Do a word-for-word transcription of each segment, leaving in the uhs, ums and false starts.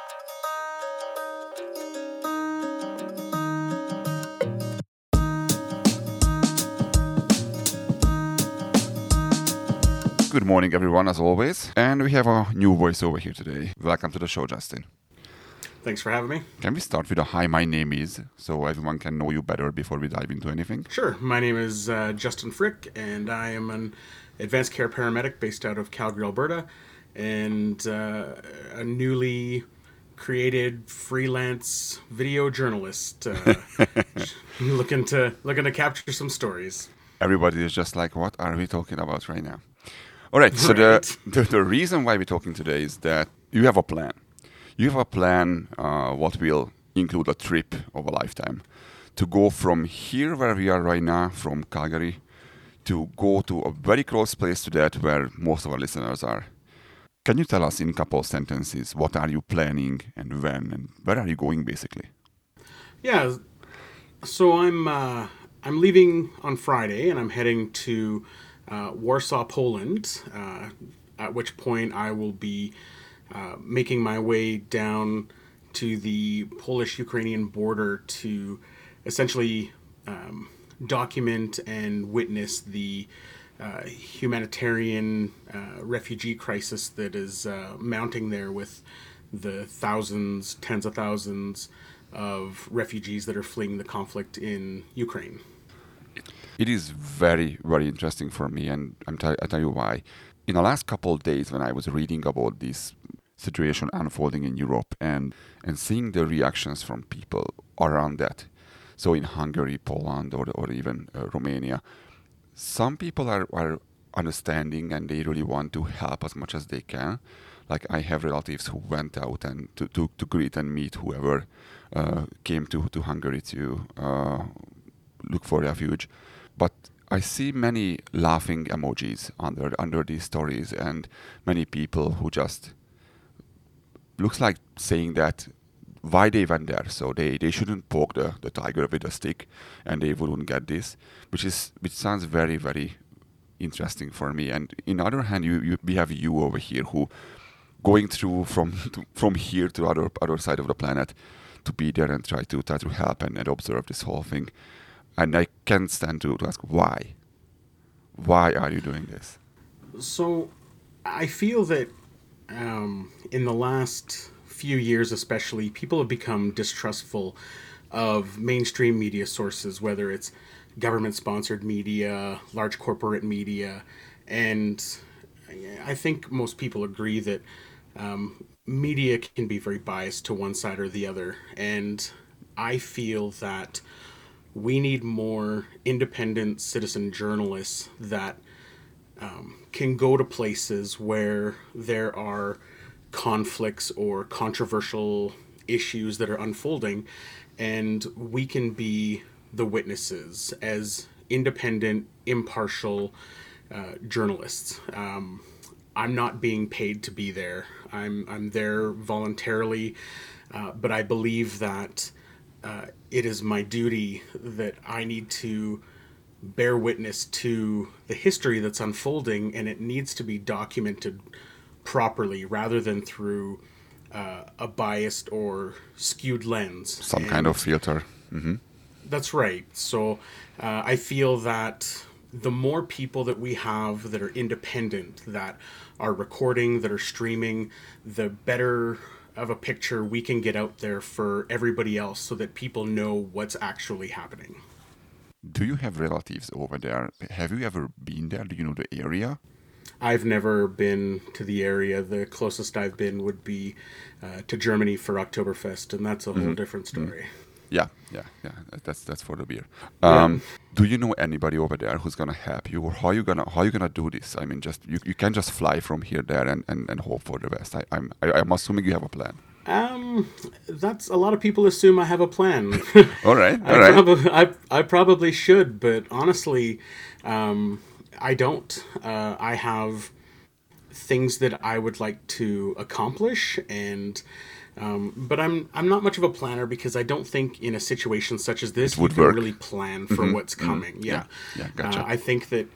Good morning, everyone, as always. And we have a new voice over here today. Welcome to the show, Justin. Thanks for having me. Can we start with a hi, my name is, so everyone can know you better before we dive into anything? Sure. My name is uh, Justin Frick, and I am an advanced care paramedic based out of Calgary, Alberta, and uh, a newly created freelance video journalist uh, looking to looking to capture some stories. Everybody is just like, what are we talking about right now? All right, so Right. the, the the reason why we're talking today is that you have a plan. You have a plan uh, what will include a trip of a lifetime to go from here where we are right now, from Calgary, to go to a very close place to that where most of our listeners are. Can you tell us in a couple of sentences what are you planning and when and where are you going basically? Yeah. So I'm uh, I'm leaving on Friday, and I'm heading to uh, Warsaw, Poland. Uh, at which point I will be uh, making my way down to the Polish-Ukrainian border to essentially um, document and witness the uh, humanitarian uh, refugee crisis that is uh, mounting there, with the thousands, tens of thousands of refugees that are fleeing the conflict in Ukraine. It is very, very interesting for me, and I'm t- I'll tell you why. In the last couple of days, when I was reading about this situation unfolding in Europe and, and seeing the reactions from people around that, so in Hungary, Poland, or, or even uh, Romania, some people are, are understanding and they really want to help as much as they can. Like I have relatives who went out and to, to, to greet and meet whoever uh, came to, to Hungary to uh, look for refuge. But I see many laughing emojis under under these stories, and many people who just looks like saying that why they went there, so they, they shouldn't poke the, the tiger with a stick, and they wouldn't get this, which is which sounds very very interesting for me. And in the other hand, you, you we have you over here who going through from to, from here to other other side of the planet to be there and try to try to help and, and observe this whole thing. And I can't stand to, to ask why. Why are you doing this? So I feel that um, in the last few years, especially, people have become distrustful of mainstream media sources, whether it's government-sponsored media, large corporate media, and I think most people agree that um, media can be very biased to one side or the other. And I feel that we need more independent citizen journalists that um, can go to places where there are conflicts or controversial issues that are unfolding, and we can be the witnesses as independent, impartial uh, journalists. Um, I'm not being paid to be there. I'm I'm there voluntarily, uh, but I believe that uh, it is my duty that I need to bear witness to the history that's unfolding, and it needs to be documented properly rather than through uh, a biased or skewed lens. Some And kind of filter. Hmm. that's right. So uh, I feel that the more people that we have that are independent, that are recording, that are streaming, the better of a picture we can get out there for everybody else, so that people know what's actually happening. Do you have relatives over there? Have you ever been there? Do you know the area? I've never been to the area. The closest I've been would be uh, to Germany for Oktoberfest, and that's a whole different story. Yeah, yeah, yeah. That's that's for the beer. Yeah. Um, do you know anybody over there who's gonna help you, or how you gonna how you gonna do this? I mean, just you, you can't just fly from here there and, and, and hope for the best. I, I'm I, I'm assuming you have a plan. Um, that's a lot of people assume I have a plan. All right, I all right. probably I, I probably should, but honestly, um, I don't. Uh, I have things that I would like to accomplish, and um, but I'm I'm not much of a planner, because I don't think in a situation such as this It you would can work. really plan for what's coming. Yeah, Yeah, gotcha. uh, I think that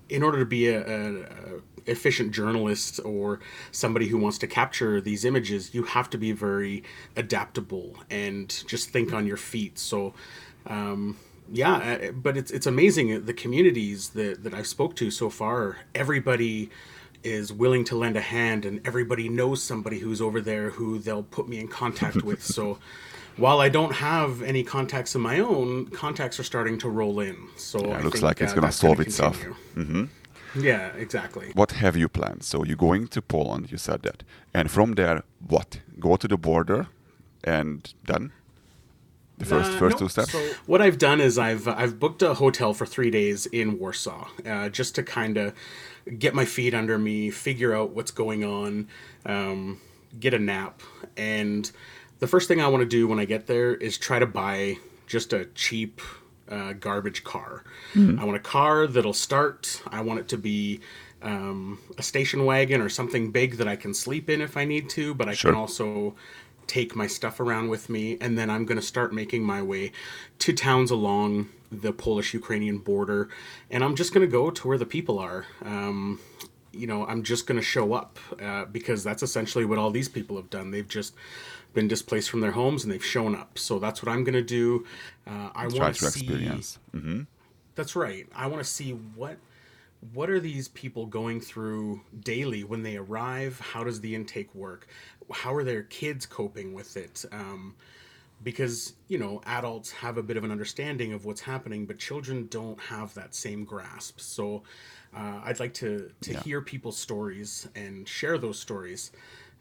in order to be a, a, a efficient journalist or somebody who wants to capture these images, you have to be very adaptable and just think on your feet. So, um, yeah, uh, but it's it's amazing the communities that that I've spoke to so far. Everybody is willing to lend a hand, and everybody knows somebody who's over there who they'll put me in contact with. So while I don't have any contacts of my own, contacts are starting to roll in. So Yeah, I it looks think like it's uh, gonna that's going solve to itself. continue. Hmm. Yeah, exactly. What have you planned? So you're going to Poland, you said that. And from there, what? Go to the border and then the first Uh, first no. two steps? So what I've done is I've I've booked a hotel for three days in Warsaw, uh, just to kind of get my feet under me, figure out what's going on, um, get a nap, and the first thing I want to do when I get there is try to buy just a cheap uh, garbage car. Hmm. I want a car that'll start. I want it to be um, a station wagon or something big that I can sleep in if I need to, but I can Sure. also take my stuff around with me, and then I'm going to start making my way to towns along the Polish-Ukrainian border, and I'm just going to go to where the people are. Um, you know, I'm just going to show up uh, because that's essentially what all these people have done. They've just been displaced from their homes and they've shown up. So that's what I'm going to do. Uh, I Try want to to see. experience. Hmm. That's right. I want to see what what are these people going through daily when they arrive. How does the intake work? How are their kids coping with it? Um, because you know adults have a bit of an understanding of what's happening, but children don't have that same grasp. So uh, I'd like to to Yeah. hear people's stories and share those stories.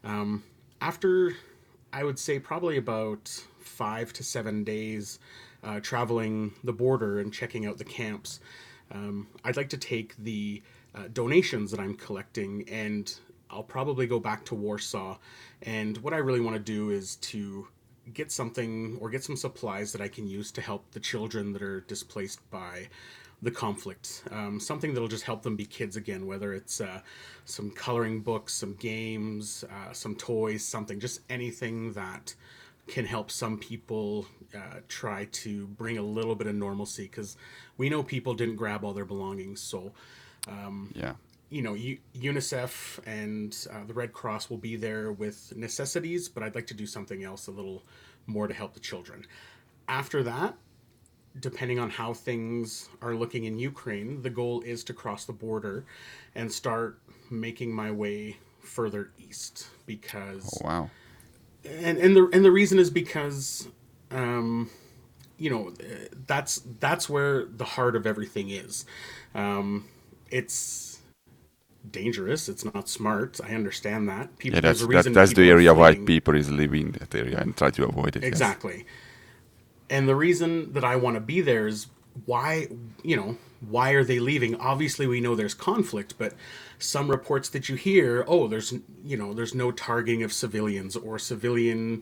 After, I would say, probably about five to seven days uh, traveling the border and checking out the camps, um, I'd like to take the uh, donations that I'm collecting, and I'll probably go back to Warsaw. And what I really want to do is to get something or get some supplies that I can use to help the children that are displaced by the conflict. Um, something that'll just help them be kids again, whether it's uh, some coloring books, some games, uh, some toys, something, just anything that can help some people uh, try to bring a little bit of normalcy, because we know people didn't grab all their belongings. So Yeah. you know, U- UNICEF and uh, the Red Cross will be there with necessities, but I'd like to do something else a little more to help the children. After that, depending on how things are looking in Ukraine, the goal is to cross the border and start making my way further east, Oh, because wow. and and the and the reason is because um you know that's that's where the heart of everything is. Um it's dangerous, it's not smart. I understand that. Yeah, People, there's that's a that reason that's the people are area why fleeing. people is leaving that area and try to avoid it. Yes. Exactly. And the reason that I want to be there is why, you know, why are they leaving? Obviously, we know there's conflict, but some reports that you hear, oh, there's, you know, there's no targeting of civilians, or civilian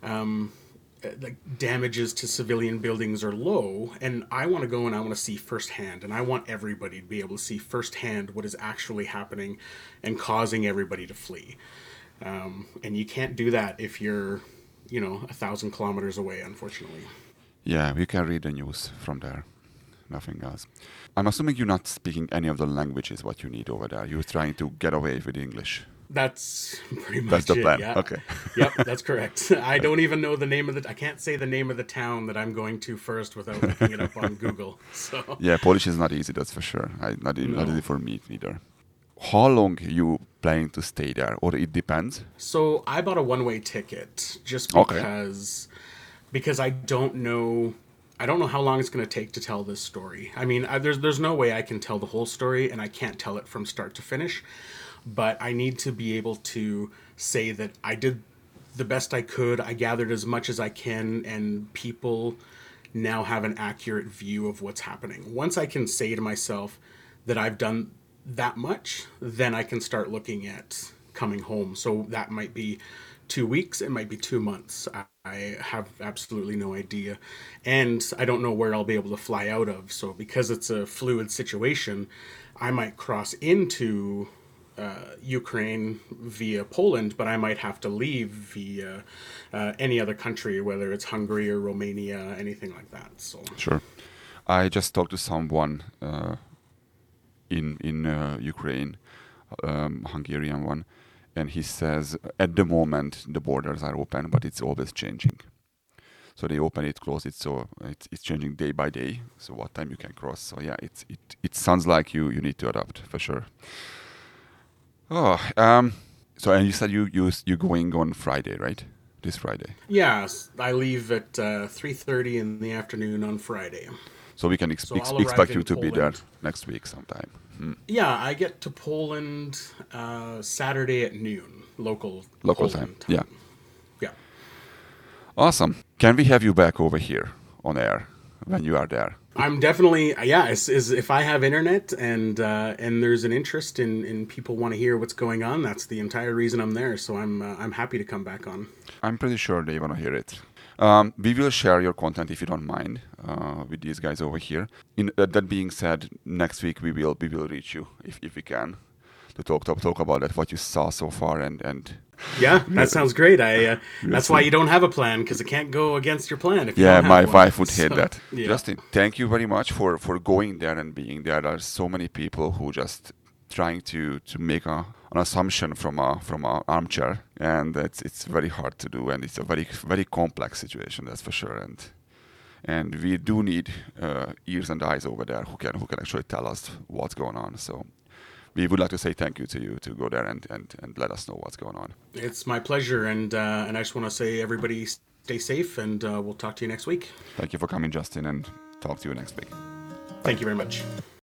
like damages to civilian buildings are low. And I want to go and I want to see firsthand, and I want everybody to be able to see firsthand what is actually happening and causing everybody to flee. Um, and you can't do that if you're, you know, a thousand kilometers away, unfortunately. Yeah, we can read the news from there. Nothing else. I'm assuming you're not speaking any of the languages what you need over there. You're trying to get away with English. That's pretty That's much the it. plan. Yeah. Okay. Yep, that's correct. I don't even know the name of the. I can't say the name of the town that I'm going to first without looking it up on Google. So Yeah, Polish is not easy, that's for sure. I, not, e- not easy no. for me either. How long you planning to stay there? Or it depends? So I bought a one-way ticket just Okay. because because I don't know. I don't know how long it's going to take to tell this story. I mean, I, there's there's no way I can tell the whole story, and I can't tell it from start to finish. But I need to be able to say that I did the best I could. I gathered as much as I can, and people now have an accurate view of what's happening. Once I can say to myself that I've done that much, then I can start looking at coming home. So that might be two weeks, it might be two months. I have absolutely no idea. And I don't know where I'll be able to fly out of. So because it's a fluid situation, I might cross into uh, Ukraine via Poland, but I might have to leave via uh, any other country, whether it's Hungary or Romania, anything like that. So Sure. I just talked to someone uh, in in uh, Ukraine, um, Hungarian one, and he says at the moment the borders are open, but it's always changing. So they open it, close it, so it's, it's changing day by day. So what time you can cross? So yeah, it's it it sounds like you you need to adapt for sure. Oh, um, so and you said you you you going on Friday, right? This Friday. Yes, I leave at uh, three thirty in the afternoon on Friday. So we can ex- So ex- I'll arrive expect you in to be there Poland. next week sometime. Hmm. Yeah, I get to Poland uh, Saturday at noon, local Local Poland time. Yeah. Yeah. Awesome. Can we have you back over here on air when you are there? I'm definitely yeah. Is, is if I have internet and uh, and there's an interest in, in people want to hear what's going on, that's the entire reason I'm there. So I'm uh, I'm happy to come back on. I'm pretty sure they want to hear it. Um, we will share your content if you don't mind uh, with these guys over here. In uh, that being said, next week we will we will reach you if, if we can to talk to talk about that what you saw so far and and Yeah, that sounds great. I uh, that's see. why you don't have a plan because it can't go against your plan. If you yeah, don't have my one. wife would hate So, that. yeah. Justin, thank you very much for for going there and being there. There are so many people who just trying to to make a an assumption from a from a armchair, and it's it's very hard to do, and it's a very very complex situation, that's for sure. And and we do need uh, ears and eyes over there who can who can actually tell us what's going on. So we would like to say thank you to you to go there and and, and let us know what's going on. It's my pleasure, and uh, and I just want to say everybody stay safe, and uh, we'll talk to you next week. Thank you for coming, Justin, and talk to you next week. Thank you very much.